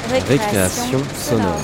Récréation sonore.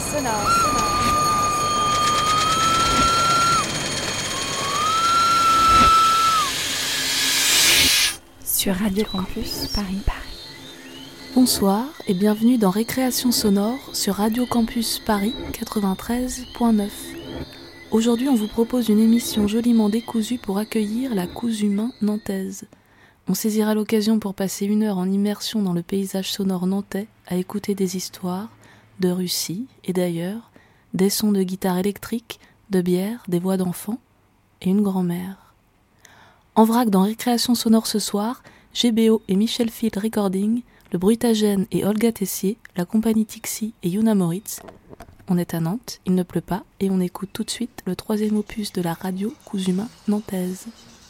Sur Radio Campus Paris. Bonsoir et bienvenue dans Récréation sonore sur Radio Campus Paris 93.9. Aujourd'hui, on vous propose une émission joliment décousue pour accueillir la Cousumain nantaise. On saisira l'occasion pour passer 1 heure en immersion dans le paysage sonore nantais à écouter des histoires de Russie et d'ailleurs, des sons de guitare électrique, de bière, des voix d'enfants et une grand-mère. En vrac dans Récréation sonore ce soir, GBO et Michel Field Recording, le Bruitagène et Olga Tessier, la compagnie Tixi et Yuna Moritz. On est à Nantes, il ne pleut pas et on écoute tout de suite le 3e opus de la radio Cousumain nantaise.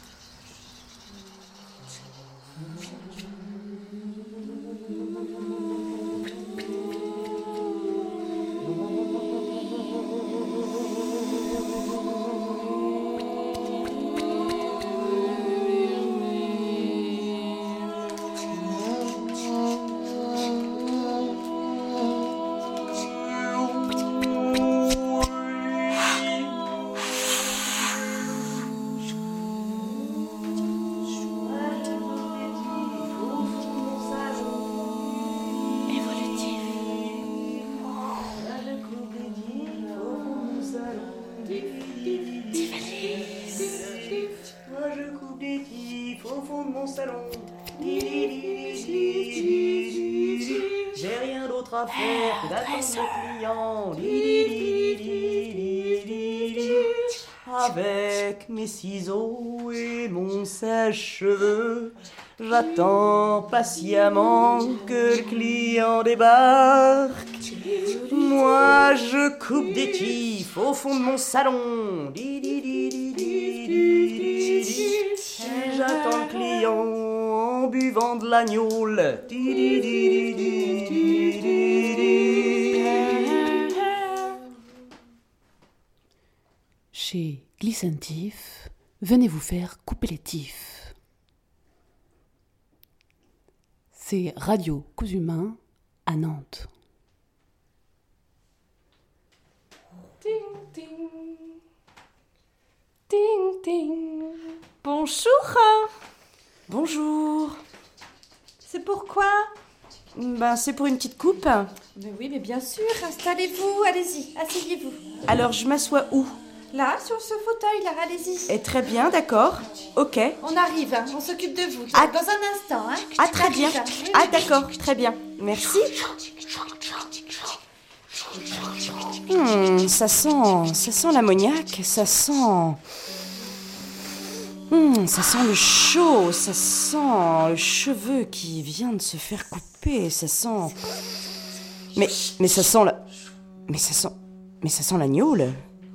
J'ai rien d'autre à faire que d'attendre le client. Avec mes ciseaux et mon sèche-cheveux, j'attends patiemment que le client débarque. Moi je coupe des tifs au fond de mon salon. Et j'attends le client en buvant de la gnôle. Chez Glissentif, venez vous faire couper les tifs. C'est Radio Cousumain à Nantes. Ting, ting. Ting, ting. Bonjour. Bonjour. C'est pourquoi? C'est pour une petite coupe. Mais oui, mais bien sûr. Installez-vous, allez-y, asseyez-vous. Alors je m'assois où? Là, sur ce fauteuil, là, allez-y. Et très bien, d'accord. Ok. On arrive, on s'occupe de vous. Ah. Dans un instant, hein. Ah, très bien. Oui, Ah, oui. d'accord, très bien. Merci. Ça sent l'ammoniac, ça sent le chaud, ça sent le cheveu qui vient de se faire couper, ça sent... Mais ça sent la... Mais ça sent la gnôle.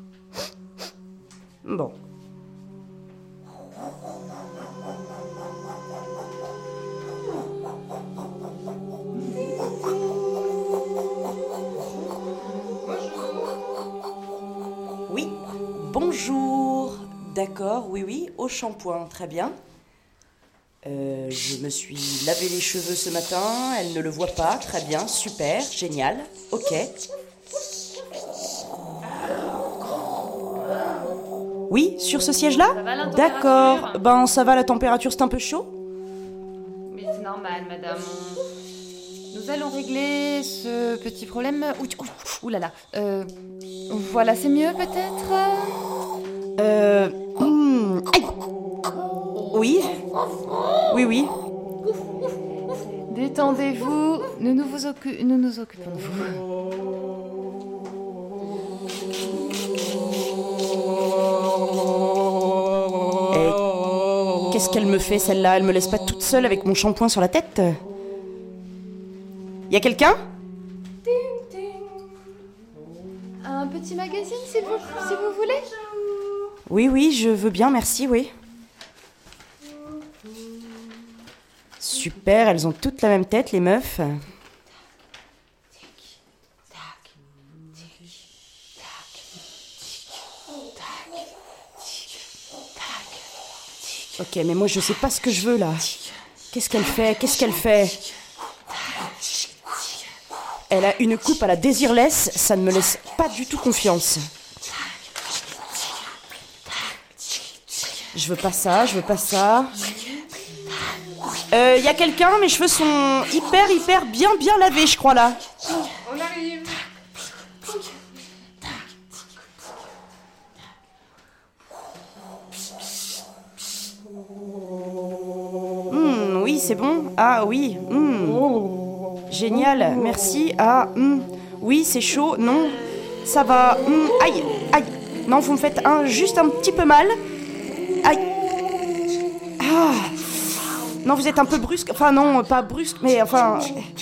Bon. Oui, bonjour. D'accord, oui, au shampoing, très bien. Je me suis lavé les cheveux ce matin, elle ne le voit pas, très bien, super, génial, ok. Oui, sur ce siège-là? Ça va, la température? D'accord, ça va, la température, c'est un peu chaud? Mais c'est normal, madame. Nous allons régler ce petit problème. Ouh là là. Voilà, c'est mieux peut-être? Aïe. Oui. Détendez-vous, nous nous occupons de vous. Qu'est-ce qu'elle me fait, celle-là? Elle me laisse pas toute seule avec mon shampoing sur la tête? Y a quelqu'un? Ting, ting. Un petit magazine, si vous voulez? Oui, je veux bien, merci, oui. Super, elles ont toutes la même tête, les meufs. Ok, mais moi je sais pas ce que je veux là. Qu'est-ce qu'elle fait? Elle a une coupe à la Désirless, ça ne me laisse pas du tout confiance. Je veux pas ça. Y a quelqu'un, mes cheveux sont hyper bien lavés, je crois, là. On arrive. Oui, c'est bon. Ah oui. Génial, merci. Ah, oui, c'est chaud. Non, ça va. Aïe. Non, vous me faites juste un petit peu mal. Aïe. Ah. Non, vous êtes un peu brusque. Enfin, non, pas brusque, mais enfin...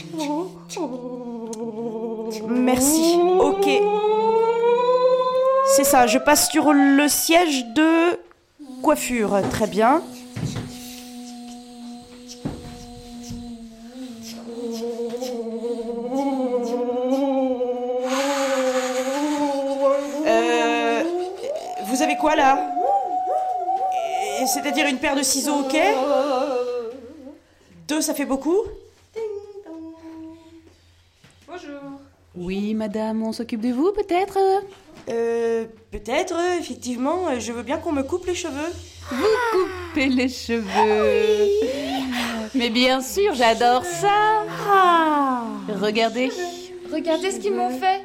Merci. Ok. C'est ça, je passe sur le siège de coiffure. Très bien. Vous avez quoi, là ? C'est-à-dire une paire de ciseaux, ok ? 2, ça fait beaucoup ? Bonjour. Oui, madame, on s'occupe de vous, peut-être ? Peut-être, effectivement. Je veux bien qu'on me coupe les cheveux. Couper les cheveux. Mais bien sûr, j'adore ça. Regardez. Regardez ce qu'ils m'ont fait.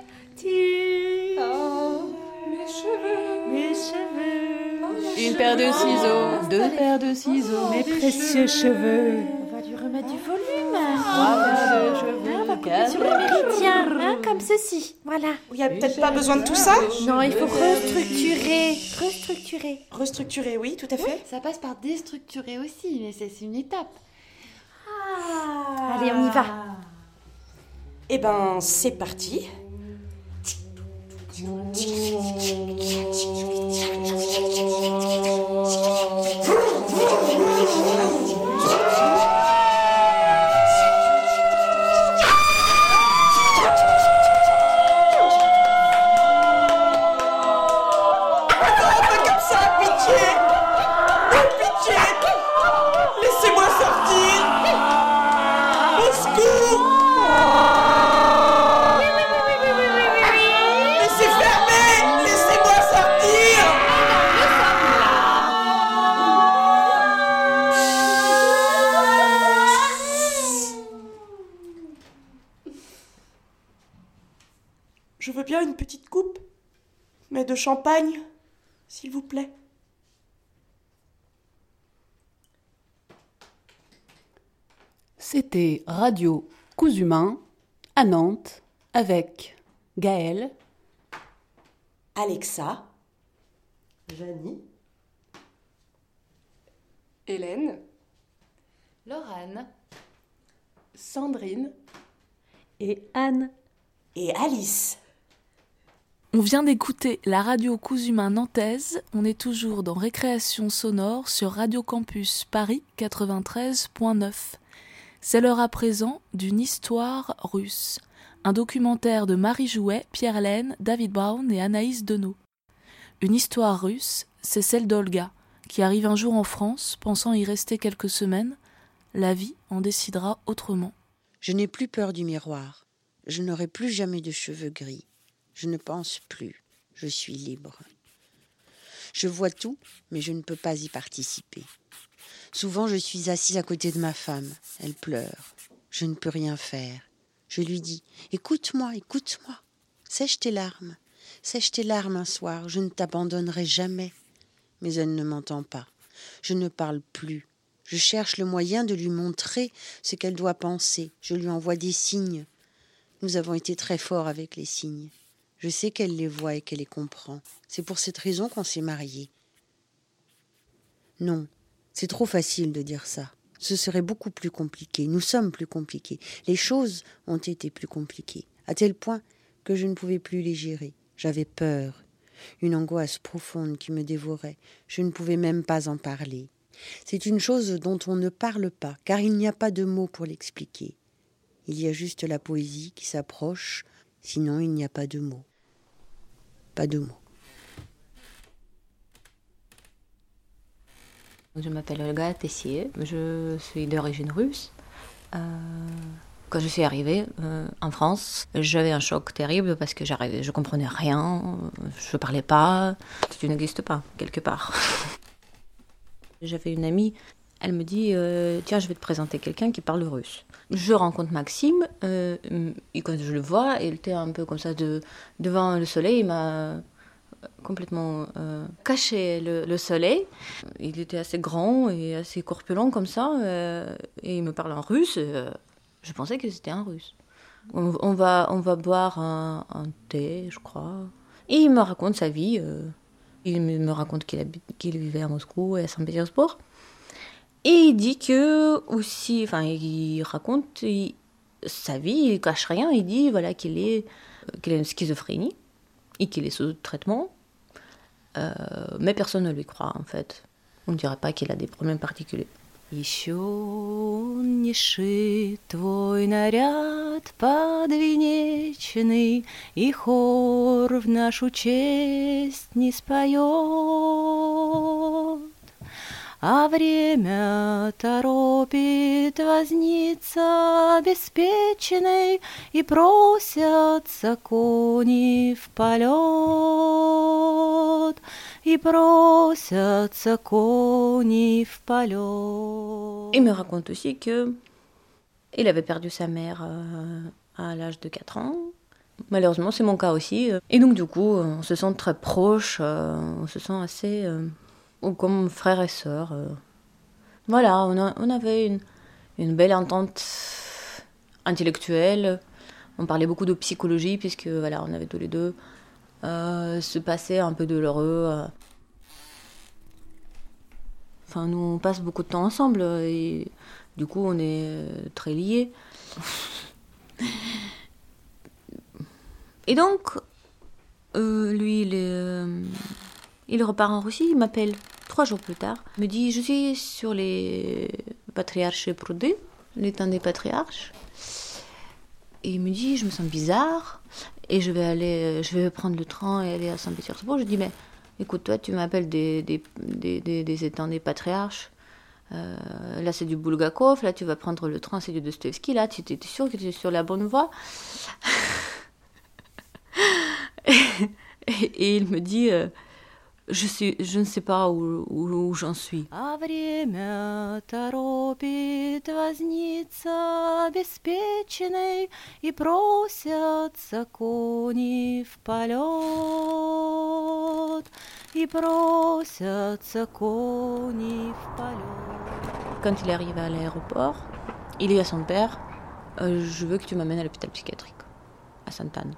Mes cheveux. Une paire de ciseaux, 2 paires de ciseaux. Mes précieux cheveux. On va lui remettre du volume. 3 paires de cheveux, 4 Sur le méridien, comme ceci. Voilà. Il n'y a peut-être pas besoin de tout ça ? Non, il faut restructurer. Restructurer, oui, tout à fait. Ça passe par déstructurer aussi, mais c'est une étape. Allez, on y va. Eh ben, c'est parti. Laissez-moi sortir. Au secours. Mais c'est fermé. Laissez-moi sortir. Je veux bien une petite coupe, mais de champagne, s'il vous plaît. C'était Radio Cousumain à Nantes avec Gaëlle, Alexa, Janie, Hélène, Laurane. Sandrine Et Anne. et Alice. On vient d'écouter la radio Cousumain nantaise. On est toujours dans Récréation sonore sur Radio Campus Paris 93.9. C'est l'heure à présent d'une histoire russe. Un documentaire de Marie Jouet, Pierre Laine, David Brown et Anaïs Deneau. Une histoire russe, c'est celle d'Olga, qui arrive un jour en France, pensant y rester quelques semaines. La vie en décidera autrement. Je n'ai plus peur du miroir. Je n'aurai plus jamais de cheveux gris. Je ne pense plus. Je suis libre. Je vois tout, mais je ne peux pas y participer. Souvent, je suis assise à côté de ma femme. Elle pleure. Je ne peux rien faire. Je lui dis « Écoute-moi, écoute-moi. Sèche tes larmes. Sèche tes larmes un soir. Je ne t'abandonnerai jamais. » Mais elle ne m'entend pas. Je ne parle plus. Je cherche le moyen de lui montrer ce qu'elle doit penser. Je lui envoie des signes. Nous avons été très forts avec les signes. Je sais qu'elle les voit et qu'elle les comprend. C'est pour cette raison qu'on s'est mariés. Non, c'est trop facile de dire ça. Ce serait beaucoup plus compliqué. Nous sommes plus compliqués. Les choses ont été plus compliquées, à tel point que je ne pouvais plus les gérer. J'avais peur, une angoisse profonde qui me dévorait. Je ne pouvais même pas en parler. C'est une chose dont on ne parle pas, car il n'y a pas de mots pour l'expliquer. Il y a juste la poésie qui s'approche, sinon il n'y a pas de mots. Pas de mots. Je m'appelle Olga Tessier, je suis d'origine russe. Quand je suis arrivée en France, j'avais un choc terrible parce que je comprenais rien, je parlais pas, tu n'existes pas quelque part. J'avais une amie, elle me dit tiens, je vais te présenter quelqu'un qui parle russe. Je rencontre Maxime et quand je le vois, il était un peu comme ça devant le soleil, il m'a complètement caché le soleil. Il était assez grand et assez corpulent comme ça et il me parle en russe. Je pensais que c'était un russe. On va boire un thé, je crois. Et il me raconte sa vie. Il me raconte qu'il vivait à Moscou et à Saint-Pétersbourg. Et il dit que aussi, enfin, il raconte sa vie, il cache rien. Il dit voilà qu'il a une schizophrénie et qu'il est sous traitement. Mais personne ne lui croit en fait. On ne dirait pas qu'il a des problèmes particuliers. Еще не шит твой наряд подвенечный, и хор в нашу честь не споет. А время торопит возница обеспеченный, и просятся кони в полет. Il me raconte aussi que il avait perdu sa mère à l'âge de 4 ans. Malheureusement, c'est mon cas aussi. Et donc, du coup, on se sent très proches, on se sent assez comme frères et sœurs. Voilà, on avait une belle entente intellectuelle. On parlait beaucoup de psychologie, puisque voilà, on avait tous les deux se passé un peu douloureux. Enfin, nous, on passe beaucoup de temps ensemble et du coup, on est très liés. Et donc, lui, il repart en Russie, il m'appelle 3 jours plus tard. Il me dit, je suis sur les patriarches Proudy, l'étang des patriarches. Et il me dit, je me sens bizarre. Et je vais prendre le train et aller à Saint-Pétersbourg. Je dis, mais écoute, toi, tu m'appelles des étangs des patriarches. Là, c'est du Bulgakov. Là, tu vas prendre le train, c'est du Dostoïevski. Là, tu es sûr que tu es sur la bonne voie. et il me dit, je ne sais pas où j'en suis. А время торопит возница обеспеченный, и просятся кони в полет, и просятся кони в полет. Quand il est arrivé à l'aéroport, il dit à son père, je veux que tu m'amènes à l'hôpital psychiatrique, à Sainte-Anne.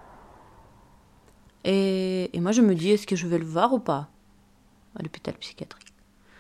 Et moi, je me dis, est-ce que je vais le voir ou pas à l'hôpital psychiatrique.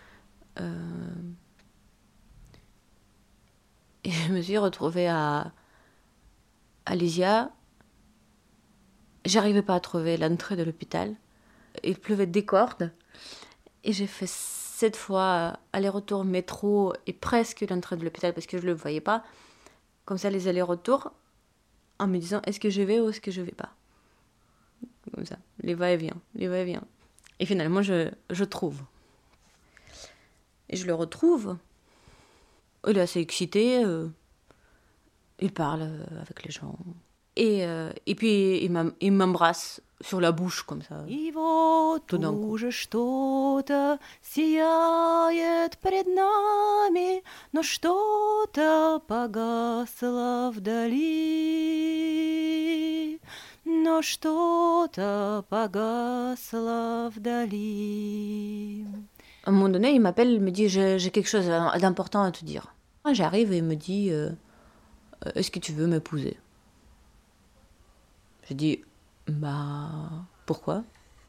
Et je me suis retrouvée à Lysia. J'arrivais pas à trouver l'entrée de l'hôpital. Il pleuvait des cordes. Et j'ai fait 7 fois aller-retour métro et presque l'entrée de l'hôpital parce que je le voyais pas. Comme ça, les allers-retours, en me disant, est-ce que je vais ou est-ce que je vais pas? Comme ça, les va-et-vient. Et finalement, je trouve. Et je le retrouve. Il est assez excité. Il parle avec les gens. Et puis, il m'embrasse sur la bouche, comme ça. Tout d'un coup. Что-то сияет пред нами, но что-то погасло вдали. Но что-то погасло вдали. À un moment donné, il m'appelle, il me dit, j'ai quelque chose d'important à te dire. J'arrive et il me dit, est-ce que tu veux m'épouser? Je dis, bah, pourquoi?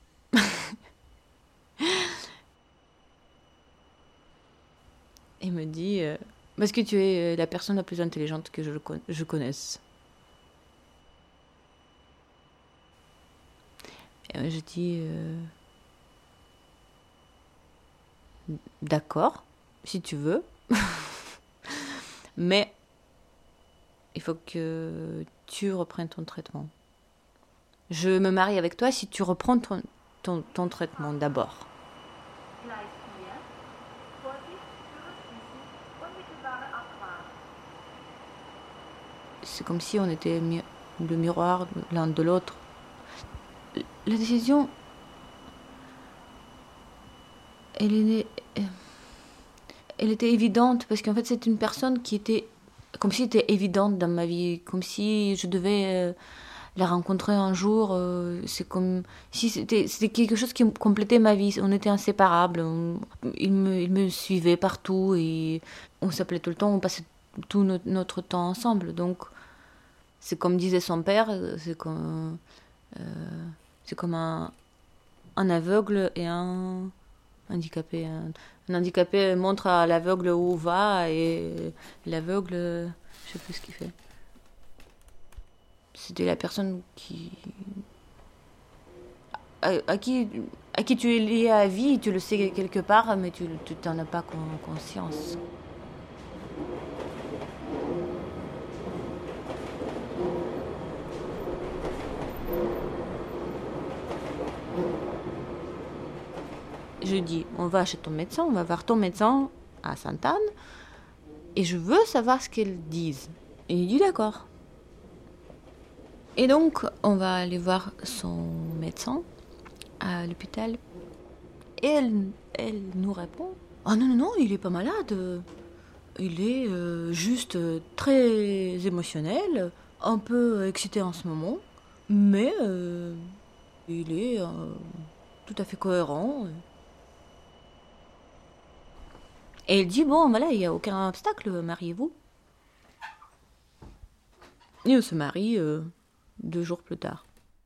Il me dit, parce que tu es la personne la plus intelligente que je connaisse. Et je dis, d'accord, si tu veux, mais il faut que tu reprennes ton traitement. Je me marie avec toi si tu reprends ton traitement d'abord. c'est comme si on était le miroir l'un de l'autre. La décision, elle était évidente parce qu'en fait c'est une personne qui était comme si elle était évidente dans ma vie, comme si je devais la rencontrer un jour. C'est comme si c'était quelque chose qui complétait ma vie. On était inséparables. Il me suivait partout et on s'appelait tout le temps. On passait tout notre temps ensemble. Donc c'est comme disait son père, c'est comme un aveugle et un handicapé. Un handicapé montre à l'aveugle où va et l'aveugle, je sais plus ce qu'il fait. C'était la personne à qui tu es lié à vie, tu le sais quelque part, mais tu n'en as pas conscience. Je dis, on va chez ton médecin, on va voir ton médecin à Sainte-Anne, et je veux savoir ce qu'ils disent. Et il dit d'accord. Et donc, on va aller voir son médecin à l'hôpital. Et elle nous répond, ah non, non, non, il est pas malade. Il est juste très émotionnel, un peu excité en ce moment, mais il est tout à fait cohérent. Et elle dit, bon, voilà, il n'y a aucun obstacle, mariez-vous. Et on se marie 2 jours plus tard.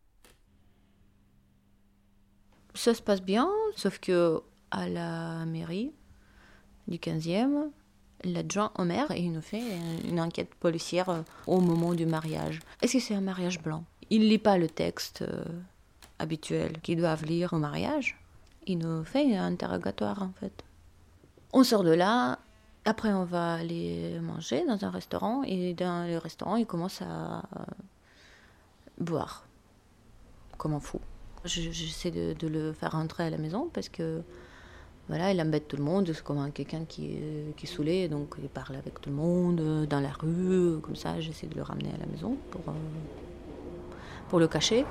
Ça se passe bien, sauf que à la mairie du 15e, l'adjoint au maire, il nous fait une enquête policière au moment du mariage. Est-ce que c'est un mariage blanc? Il ne lit pas le texte habituel qu'ils doivent lire au mariage. Il nous fait un interrogatoire, en fait. On sort de là, après on va aller manger dans un restaurant, et dans le restaurant, il commence à boire, comme un fou. J'essaie de le faire rentrer à la maison, parce que, voilà, il embête tout le monde, c'est comme quelqu'un qui est saoulé, donc il parle avec tout le monde, dans la rue, comme ça, j'essaie de le ramener à la maison pour le cacher.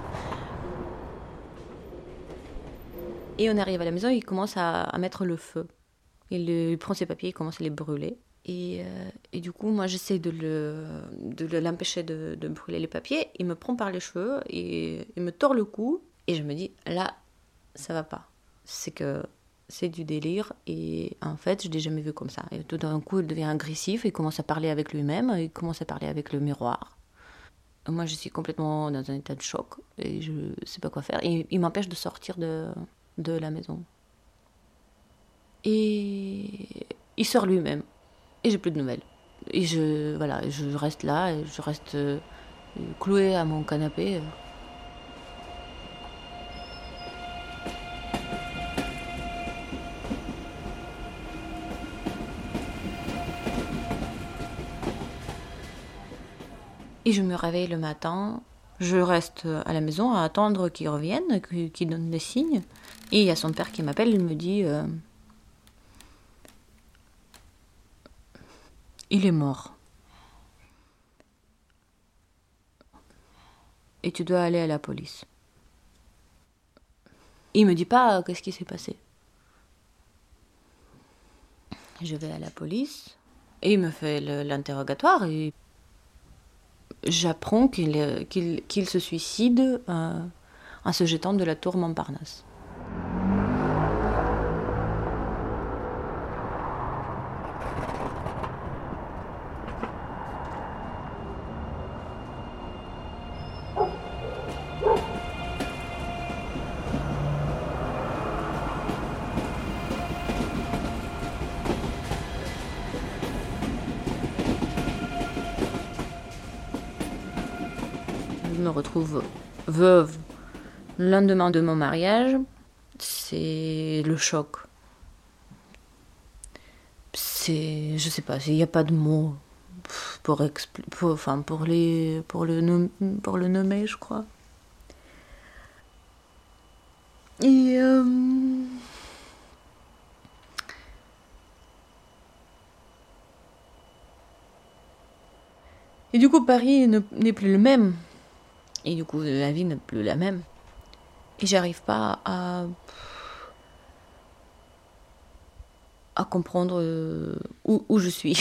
Et on arrive à la maison, il commence à mettre le feu. Il prend ses papiers, il commence à les brûler. Et du coup, moi, j'essaie de l'empêcher de brûler les papiers. Il me prend par les cheveux et il me tord le cou. Et je me dis, là, ça va pas. C'est que c'est du délire. Et en fait, je l'ai jamais vu comme ça. Et tout d'un coup, il devient agressif. Il commence à parler avec lui-même. Il commence à parler avec le miroir. Moi, je suis complètement dans un état de choc. Et je sais pas quoi faire. Et il m'empêche de sortir de la maison. Et il sort lui-même. Et j'ai plus de nouvelles. Et je reste là, et je reste clouée à mon canapé. Et je me réveille le matin. Je reste à la maison à attendre qu'il revienne, qu'il donne des signes. Et il y a son père qui m'appelle, il me dit... il est mort. Et tu dois aller à la police. Il me dit pas qu'est-ce qui s'est passé. Je vais à la police et il me fait l'interrogatoire et j'apprends qu'il se suicide en se jetant de la tour Montparnasse. Je me retrouve veuve le lendemain de mon mariage. C'est le choc. Je sais pas, il n'y a pas de mots pour le nommer, je crois. Et Et du coup, Paris n'est plus le même. Et du coup, la vie n'est plus la même. Et j'arrive pas à comprendre où je suis.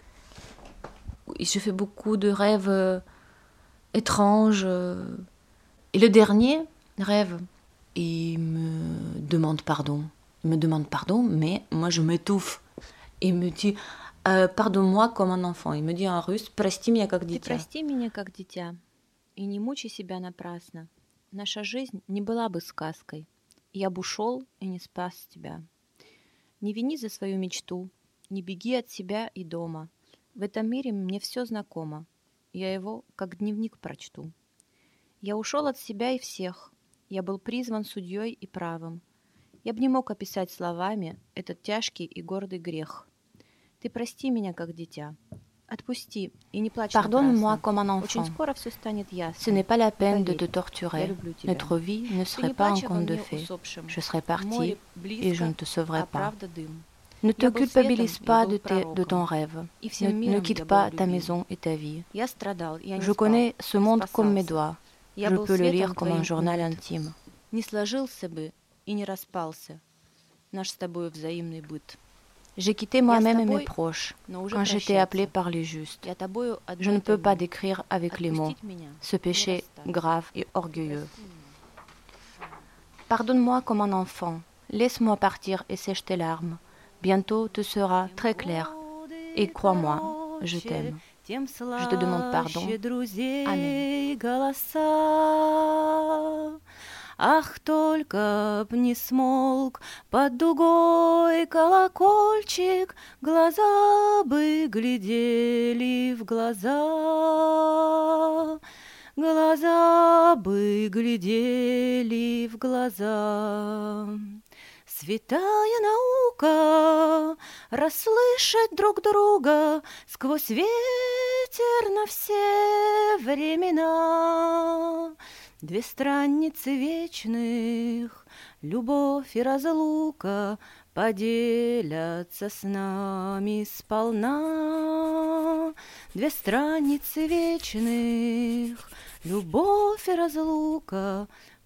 Je fais beaucoup de rêves étranges. Et le dernier rêve, il me demande pardon. Il me demande pardon, mais moi je m'étouffe. Il me dit pardonne-moi comme un enfant. Il me dit en russe прости меня как дитя. Ты прости меня как дитя и не мучай себя напрасно. Наша жизнь не была бы сказкой. Я бы ушел и не спас тебя. Не вини за свою мечту, не беги от себя и дома. В этом мире мне все знакомо. Я его как дневник прочту. Я ушел от себя и всех. Я был призван судьей и правым. Я бы не мог описать словами этот тяжкий и гордый грех. Ты прости меня как дитя. Отпусти и не плачь Pardonne-moi напрасно. comme un Очень enfant. скоро все станет ясно. Ce n'est pas la peine de Поверь, te torturer. я люблю тебя. Notre vie ne Ты serait не pas un плачь обо conte de мне fées. усопшим. Je serais partie Море et je ne близко, te sauverai а pas. правда дым. Ne te Я был culpabilise светом, pas я был de ton пророком. rêve. И всем Ne миром quitte я был pas ta любим. maison et ta vie. Я страдал, я не Je спал, connais ce monde comme mes спасался. doigts. Я Je был peux le светом lire comme un твоим journal умыт. intime. Не сложился бы и не распался наш с тобой взаимный быт. J'ai quitté moi-même et mes тобой, proches Но уже quand j'étais прощаться. appelée par les justes. Я тобою Je ne одной peux pas тобой. décrire avec les mots Отпустить меня, ce péché не расстаться. grave et orgueilleux. Pardonne-moi comme un enfant. Laisse-moi partir et sèche tes larmes. Bientôt te sera très clair. Et crois-moi, je t'aime. Je te demande pardon. Amen. Ах, только б не смолк под дугой колокольчик, глаза бы глядели в глаза, глаза бы глядели в глаза. Святая наука расслышать друг друга сквозь ветер на все времена. Две страницы вечных, любовь и разлука поделятся с нами сполна. Две страницы вечных, любовь и разлука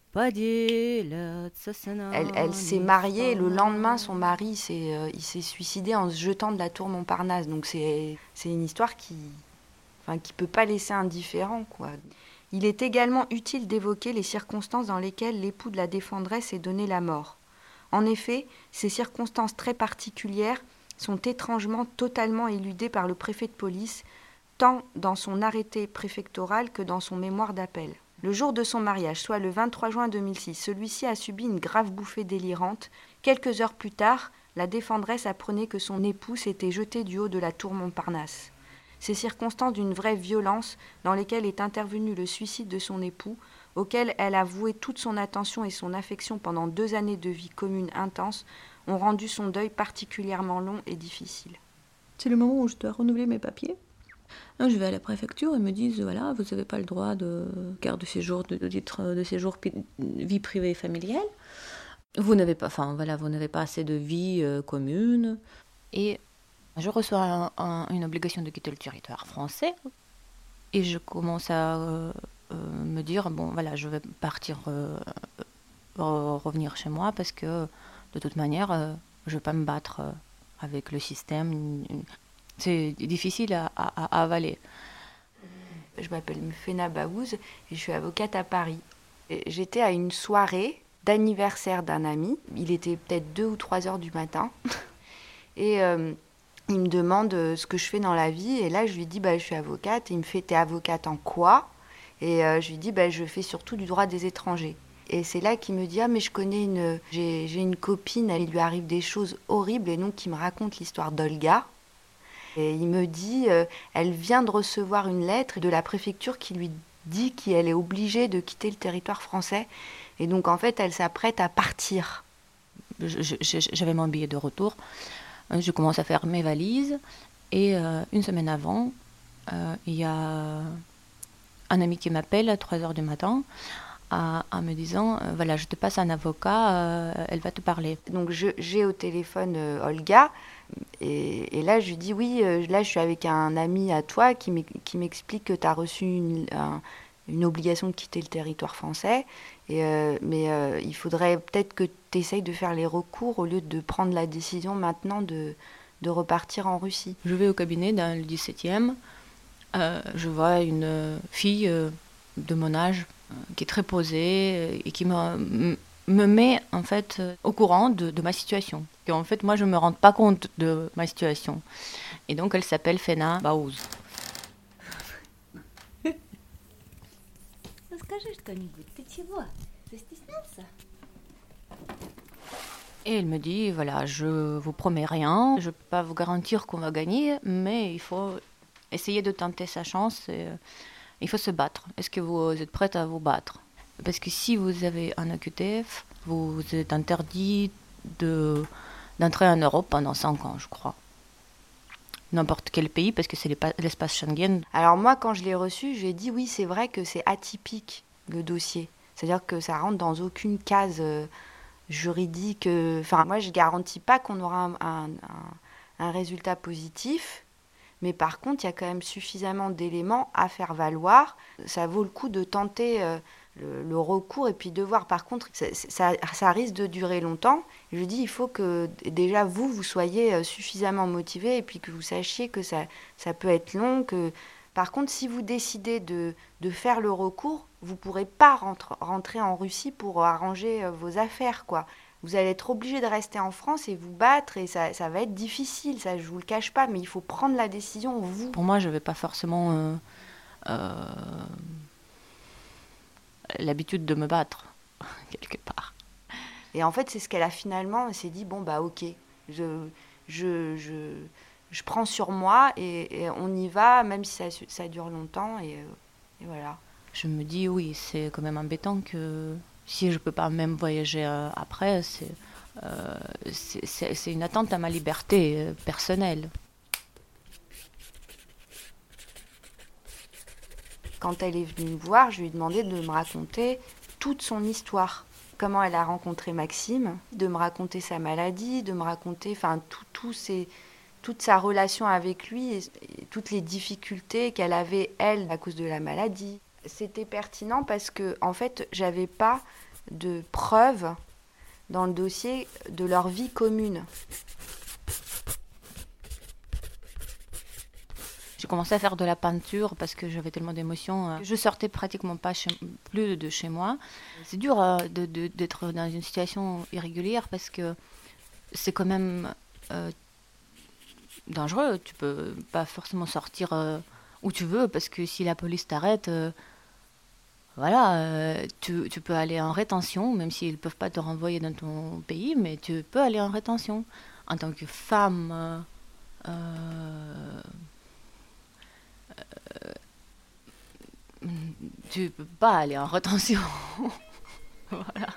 поделятся с нами. Elle s'est mariée, le lendemain, son mari il s'est suicidé en se jetant de la tour Montparnasse. Donc c'est une histoire qui peut pas laisser indifférent, quoi. Il est également utile d'évoquer les circonstances dans lesquelles l'époux de la défendresse est donné la mort. En effet, ces circonstances très particulières sont étrangement totalement éludées par le préfet de police, tant dans son arrêté préfectoral que dans son mémoire d'appel. Le jour de son mariage, soit le 23 juin 2006, celui-ci a subi une grave bouffée délirante. Quelques heures plus tard, la défendresse apprenait que son époux s'était jeté du haut de la tour Montparnasse. Ces circonstances d'une vraie violence dans lesquelles est intervenu le suicide de son époux, auquel elle a voué toute son attention et son affection pendant 2 années de vie commune intense, ont rendu son deuil particulièrement long et difficile. C'est le moment où je dois renouveler mes papiers. Donc, je vais à la préfecture et me disent voilà, vous n'avez pas le droit de carte de séjour, de titre de séjour vie privée et familiale. Vous n'avez pas assez de vie commune. Et je reçois une obligation de quitter le territoire français. Et je commence à me dire bon voilà, je vais partir, revenir chez moi parce que de toute manière, je ne vais pas me battre avec le système. C'est difficile à avaler. Je m'appelle Fena Baouz et je suis avocate à Paris. J'étais à une soirée d'anniversaire d'un ami. Il était peut-être 2 ou 3 heures du matin. Et il me demande ce que je fais dans la vie. Et là, je lui dis je suis avocate. Et il me fait t'es avocate en quoi ? Et je lui dis je fais surtout du droit des étrangers. Et c'est là qu'il me dit mais je connais j'ai une copine, il lui arrive des choses horribles. Et donc, il me raconte l'histoire d'Olga. Et il me dit, elle vient de recevoir une lettre de la préfecture qui lui dit qu'elle est obligée de quitter le territoire français. Et donc, en fait, elle s'apprête à partir. J'avais mon billet de retour. Je commence à faire mes valises. Et une semaine avant, il y a un ami qui m'appelle à 3 heures du matin en me disant, voilà, je te passe un avocat, elle va te parler. Donc, j'ai au téléphone Olga. Et là, je lui dis, oui, là, je suis avec un ami à toi qui m'explique que tu as reçu une obligation de quitter le territoire français. Mais il faudrait peut-être que tu essayes de faire les recours au lieu de prendre la décision maintenant de repartir en Russie. Je vais au cabinet dans le 17e. Je vois une fille de mon âge qui est très posée et qui me met en fait au courant de ma situation. Et en fait, moi, je ne me rends pas compte de ma situation. Et donc, elle s'appelle Fena Bauз. Скажи что-нибудь, ты чего? Застеснялся? Et elle me dit, voilà, je vous promets rien, je ne peux pas vous garantir qu'on va gagner, mais il faut essayer de tenter sa chance et il faut se battre. Est-ce que vous êtes prête à vous battre? Parce que si vous avez un OQTF, vous êtes interdit d'entrer en Europe pendant 5 ans, je crois. N'importe quel pays, parce que c'est l'espace Schengen. Alors moi, quand je l'ai reçu, j'ai dit oui, c'est vrai que c'est atypique, le dossier. C'est-à-dire que ça rentre dans aucune case juridique. Enfin, moi, je ne garantis pas qu'on aura un résultat positif, mais par contre, il y a quand même suffisamment d'éléments à faire valoir. Ça vaut le coup de tenter le recours et puis de voir. Par contre, ça risque de durer longtemps. Je dis, il faut que déjà vous soyez suffisamment motivé et puis que vous sachiez que ça peut être long. Par contre, si vous décidez de faire le recours, vous ne pourrez pas rentrer en Russie pour arranger vos affaires, quoi. Vous allez être obligé de rester en France et vous battre et ça va être difficile, ça je ne vous le cache pas, mais il faut prendre la décision, vous. Pour moi, je n'avais pas forcément l'habitude de me battre, quelque part. Et en fait, c'est ce qu'elle a finalement, elle s'est dit, bon bah ok, je prends sur moi et on y va, même si ça dure longtemps et voilà. Je me dis, oui, c'est quand même embêtant que si je ne peux pas même voyager après, c'est une atteinte à ma liberté personnelle. Quand elle est venue me voir, je lui ai demandé de me raconter toute son histoire. Comment elle a rencontré Maxime, de me raconter sa maladie, de me raconter enfin, toute sa relation avec lui et toutes les difficultés qu'elle avait, elle, à cause de la maladie. C'était pertinent parce que, en fait, j'avais pas de preuves dans le dossier de leur vie commune. J'ai commencé à faire de la peinture parce que j'avais tellement d'émotions. Je sortais pratiquement pas plus de chez moi. C'est dur d'être dans une situation irrégulière parce que c'est quand même dangereux. Tu peux pas forcément sortir où tu veux parce que si la police t'arrête, tu peux aller en rétention, même s'ils ne peuvent pas te renvoyer dans ton pays, mais tu peux aller en rétention. En tant que femme, tu peux pas aller en rétention. Voilà.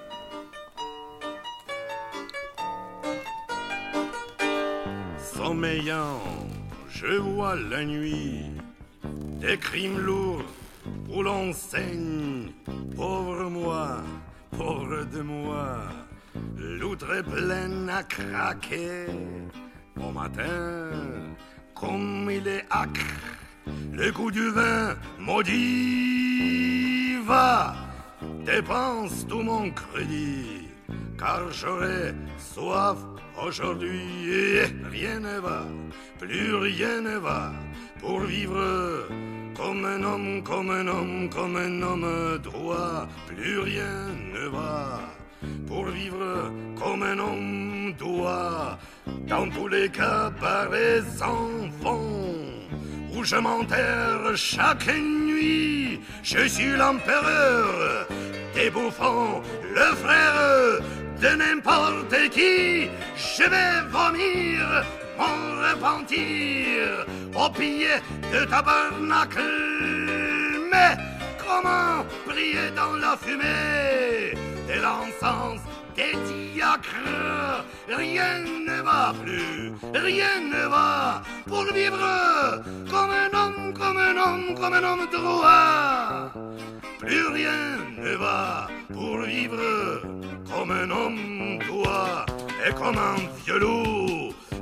Sommeillant, je vois la nuit des crimes lourds où l'on saigne. Pauvre moi, pauvre de moi, l'outre est pleine à craquer. Au matin, comme il est âcre, le goût du vin maudit va, dépense tout mon crédit, car j'aurai soif aujourd'hui et rien ne va, plus rien ne va, pour vivre comme un homme, comme un homme, comme un homme droit, plus rien ne va, pour vivre comme un homme doit, dans tous les cabarets sans fond, où je m'enterre chaque nuit, je suis l'empereur des bouffons, le frère de n'importe qui, je vais vomir mon repentir au pied de tabernacle. Mais comment prier dans la fumée de l'encens des diacres? Rien ne va plus, rien ne va pour vivre comme un homme, comme un homme, comme un homme droit. Plus rien ne va pour vivre comme un homme doit. Et comme un vieux loup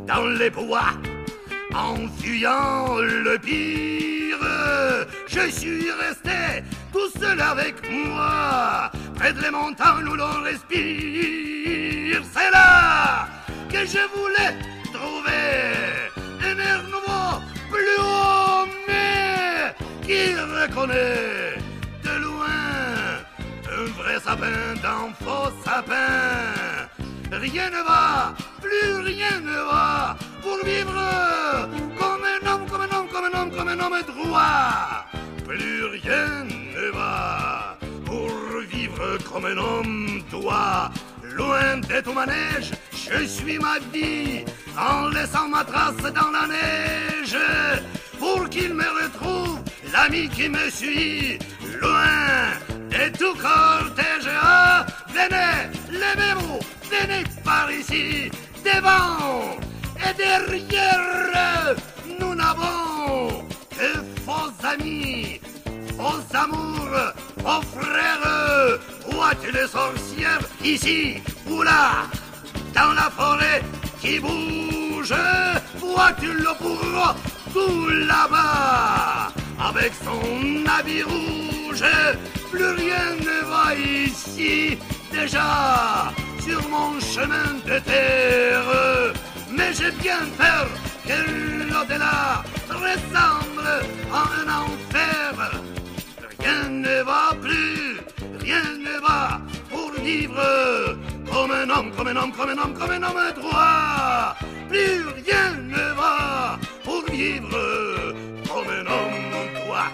dans les bois, en fuyant le pire. Je suis resté tout seul avec moi, près des montagnes où l'on respire. C'est là que je voulais trouver un air nouveau, plus haut, mais qui reconnaît de loin un vrai sapin d'un faux sapin. Rien ne va, plus rien ne va pour vivre comme un homme, comme un homme, comme un homme, comme un homme droit. Plus rien ne va pour vivre comme un homme doit. Loin de tout manège, je suis ma vie en laissant ma trace dans la neige. Pour qu'il me retrouve, l'ami qui me suit, loin de tout cortège. Ah, venez, levez-vous, venez par ici, devant et derrière. Nous n'avons que faux amis, faux amours, faux frères. Vois-tu les sorcières ici ou là, dans la forêt qui bouge? Vois-tu le bourreau tout là-bas, avec son habit rouge? Plus rien ne va ici, déjà sur mon chemin de terre. Mais j'ai bien peur que l'au-delà ressemble à un enfer. Rien ne va plus, rien ne va pour vivre comme un homme, comme un homme, comme un homme, comme un homme droit. Plus rien ne va pour vivre comme un homme droit.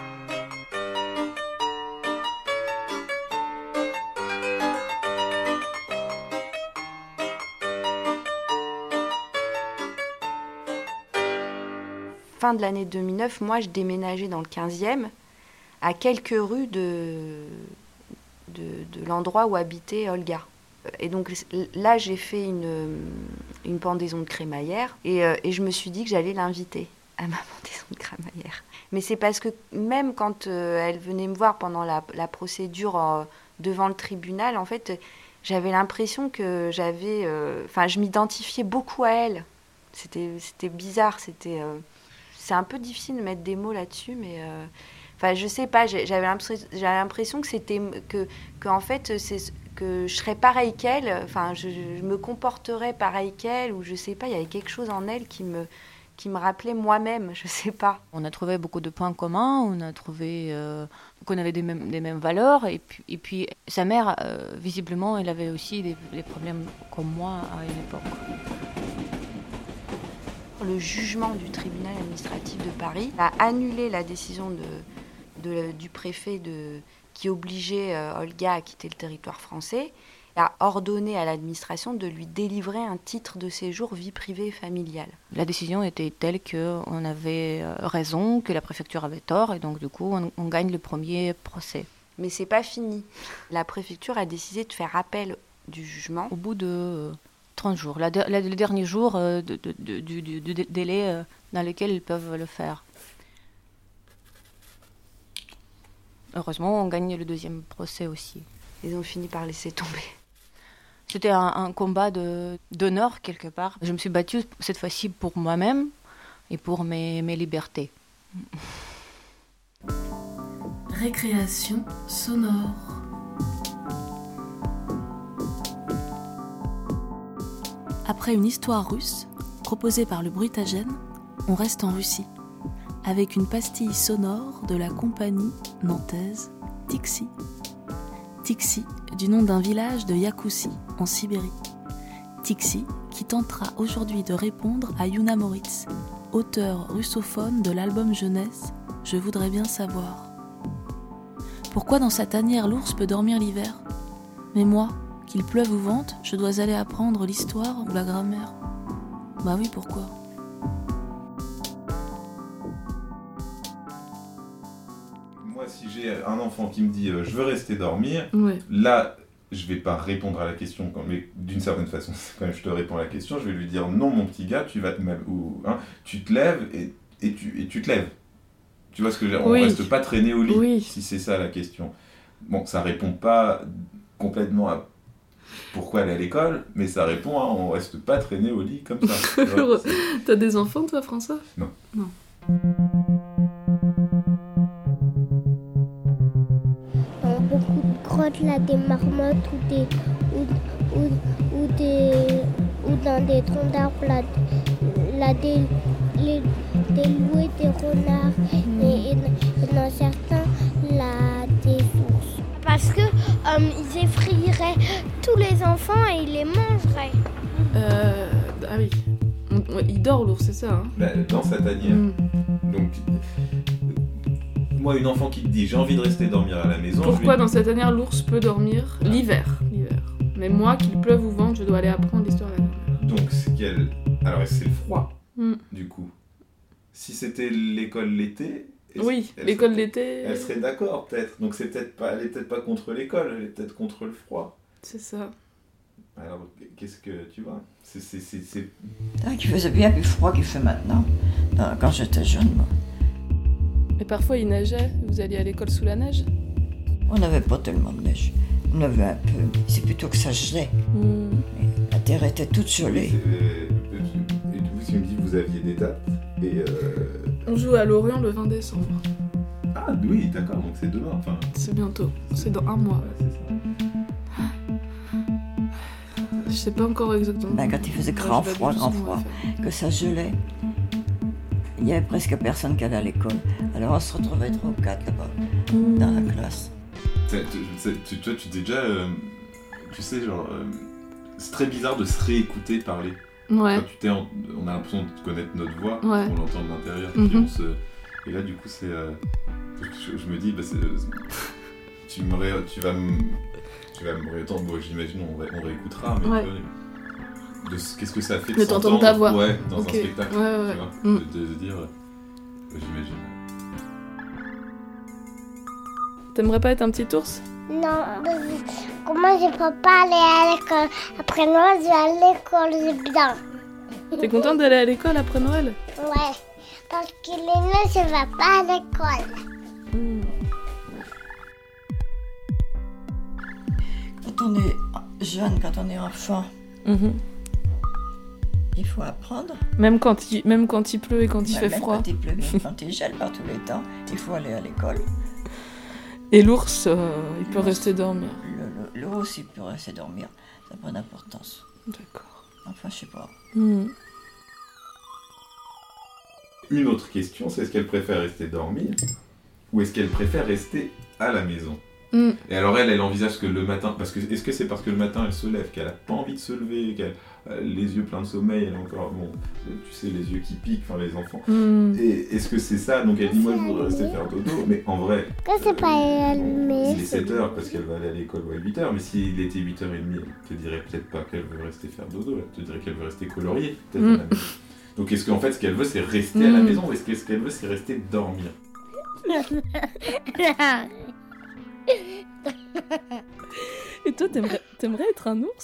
Fin de l'année 2009, moi je déménageais dans le 15e, à quelques rues de l'endroit où habitait Olga. Et donc là, j'ai fait une pendaison de crémaillère et je me suis dit que j'allais l'inviter à ma pendaison de crémaillère. Mais c'est parce que même quand elle venait me voir pendant la procédure devant le tribunal, en fait, j'avais l'impression que je m'identifiais beaucoup à elle. C'était bizarre, c'est un peu difficile de mettre des mots là-dessus, mais... je sais pas, j'avais l'impression que en fait, que je serais pareille qu'elle, je me comporterais pareille qu'elle, ou je sais pas, il y avait quelque chose en elle qui me rappelait moi-même, je sais pas. On a trouvé beaucoup de points communs, on a trouvé qu'on avait des mêmes valeurs, et puis sa mère, visiblement, elle avait aussi des problèmes comme moi à une époque. Le jugement du tribunal administratif de Paris a annulé la décision du préfet qui obligeait Olga à quitter le territoire français, et a ordonné à l'administration de lui délivrer un titre de séjour vie privée et familiale. La décision était telle qu'on avait raison, que la préfecture avait tort, et donc du coup on gagne le premier procès. Mais c'est pas fini. La préfecture a décidé de faire appel du jugement. Au bout de 30 jours, le dernier jour du délai dans lequel ils peuvent le faire. Heureusement, on gagne le deuxième procès aussi. Ils ont fini par laisser tomber. C'était un combat d'honneur quelque part. Je me suis battue cette fois-ci pour moi-même et pour mes libertés. Récréation sonore. Après une histoire russe, proposée par le Bruitagène, on reste en Russie, avec une pastille sonore de la compagnie nantaise Tixi. Tixi, du nom d'un village de Yakoussie, en Sibérie. Tixi, qui tentera aujourd'hui de répondre à Yuna Moritz, auteur russophone de l'album jeunesse « Je voudrais bien savoir ». Pourquoi dans sa tanière l'ours peut dormir l'hiver ? Mais moi, qu'il pleuve ou vente, je dois aller apprendre l'histoire ou la grammaire. Bah oui, pourquoi ? Moi, si j'ai un enfant qui me dit je veux rester dormir, ouais. Là, je vais pas répondre à la question, mais d'une certaine façon, quand même je te réponds à la question, je vais lui dire non, mon petit gars, tu te lèves et tu te lèves. Tu vois ce que je veux dire ? On reste pas traîné au lit, si c'est ça la question. Bon, ça répond pas complètement pourquoi aller à l'école, mais ça répond à on reste pas traîné au lit comme ça. Tu vois, T'as des enfants, toi, François ? Non. Dans beaucoup de grottes, là, des marmottes ou dans des troncs d'arbres, là, des loups, des renards et dans certains, là, des ours. Parce que ils effraieraient tous les enfants et ils les mangeraient. Ah oui. Il dort, l'ours, c'est ça, hein ? Dans sa tanière. Donc, moi, une enfant qui te dit j'ai envie de rester dormir à la maison. Pourquoi dans cette tanière l'ours peut dormir l'hiver. Mais moi, qu'il pleuve ou vente, je dois aller apprendre l'histoire de la dormir. Donc c'est qu'elle. Alors c'est le froid, du coup. Si c'était l'école l'été. Oui, l'école l'été. Elle serait d'accord, peut-être. Donc c'est peut-être pas. Elle est peut-être pas contre l'école, elle est peut-être contre le froid. C'est ça. Alors qu'est-ce que tu vois ? C'est... Qu'il faisait bien plus froid qu'il fait maintenant, quand j'étais jeune, moi. Et parfois il neigeait, vous alliez à l'école sous la neige ? On n'avait pas tellement de neige. On avait un peu. C'est plutôt que ça gelait. La terre était toute gelée. Et vous, si on me dit que vous aviez des dates et On joue à Lorient le 20 décembre. Ah oui, d'accord, donc c'est demain. Enfin... C'est bientôt, c'est dans un mois. Ouais, c'est ça. Je sais pas encore exactement. Quand il faisait grand froid, que ça gelait, il y avait presque personne qui allait à l'école. Alors on se retrouvait 3 ou 4 là-bas, dans la classe. Toi, tu dis déjà, tu sais, genre, c'est très bizarre de se réécouter parler. Ouais. Quand on a l'impression de connaître notre voix, ouais. On l'entend de l'intérieur, puis et là, du coup, c'est, je me dis, tu vas me réentendre, bon, j'imagine, on réécoutera, mais ouais. Qu'est-ce que ça fait de t'entendre ta voix, ouais, dans un spectacle, ouais. Tu vois, de dire, j'imagine. T'aimerais pas être un petit ours ? Non, comment je peux pas aller à l'école ? Après Noël, je vais à l'école, c'est bien. T'es contente d'aller à l'école après Noël ? Ouais, parce qu'il est né, je vais pas à l'école. Quand on est jeune, quand on est enfant, il faut apprendre. Même quand il pleut et quand il fait froid. Quand il pleut, même quand il gèle par tous les temps, il faut aller à l'école. Et l'ours, il peut rester dormir. L'ours, il peut rester dormir. Ça n'a pas d'importance. D'accord. Enfin, je sais pas. Une autre question, c'est est-ce qu'elle préfère rester dormir ou est-ce qu'elle préfère rester à la maison ? Et alors elle envisage que le matin, est-ce que c'est parce que le matin elle se lève, qu'elle a pas envie de se lever, qu'elle a les yeux pleins de sommeil, elle a encore, tu sais, les yeux qui piquent, enfin les enfants. Et est-ce que c'est ça ? Donc elle dit moi je voudrais rester faire dodo, mais en vrai, c'est pas allumé. Il est 7h parce qu'elle va aller à l'école ou à 8h, mais s'il était 8h30, elle te dirait peut-être pas qu'elle veut rester faire dodo, elle te dirait qu'elle veut rester colorier, peut-être à la maison. Donc est-ce qu'en fait ce qu'elle veut c'est rester à la maison ou est-ce que ce qu'elle veut c'est rester dormir ? Et toi, t'aimerais être un ours ?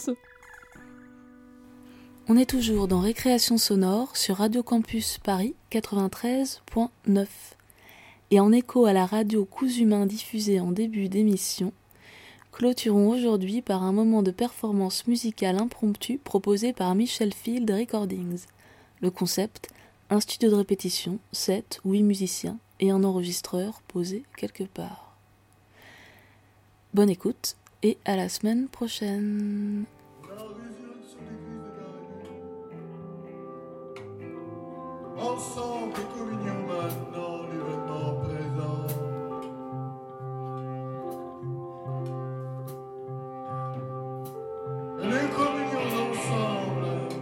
On est toujours dans Récréation sonore sur Radio Campus Paris 93.9. Et en écho à la radio Cousu Main diffusée en début d'émission, clôturons aujourd'hui par un moment de performance musicale impromptue proposé par Michel Field Recordings. Le concept, un studio de répétition, 7 ou 8 musiciens et un enregistreur posé quelque part. Bonne écoute et à la semaine prochaine. Ensemble, communion maintenant, l'événement présent. Les communions ensemble,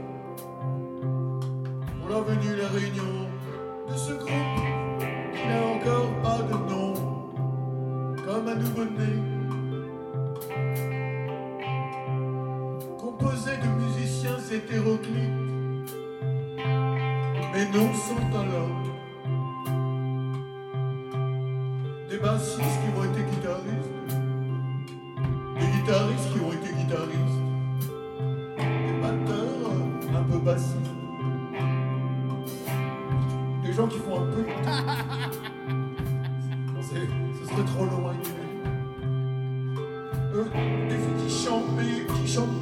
pour la venue, la réunion de ce groupe qui n'a encore pas de nom, comme un nouveau-né. Composé de musiciens hétéroclites, mais non sans talent. Des bassistes qui ont été guitaristes, des guitaristes qui ont été guitaristes, des batteurs un peu bassistes, des gens qui font un peu... Ce serait trop long à énumérer. Des filles qui chantent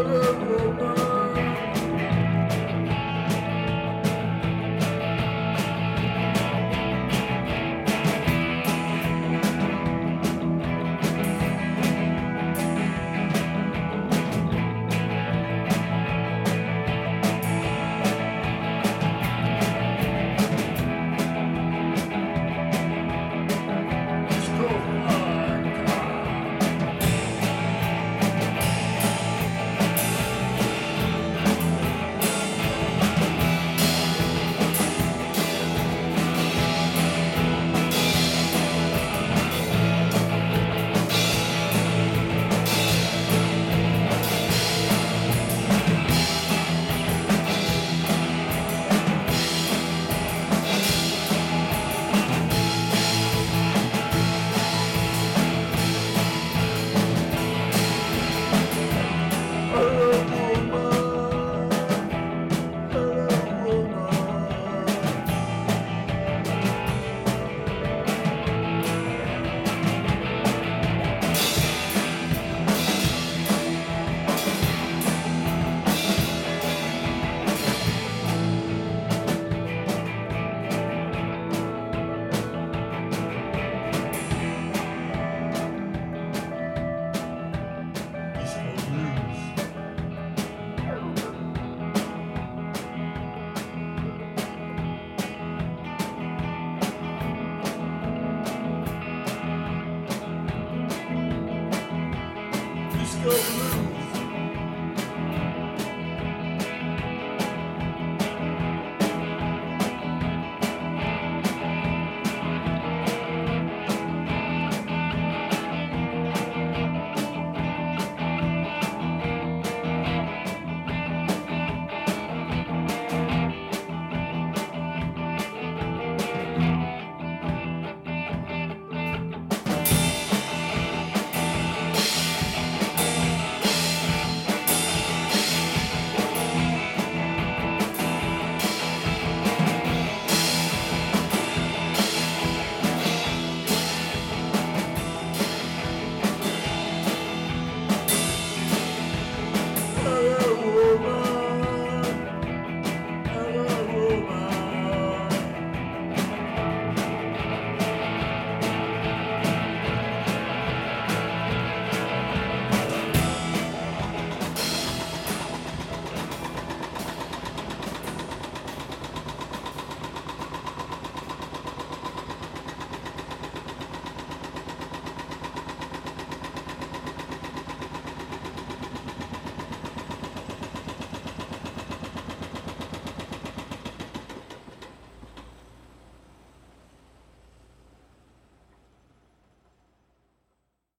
Disco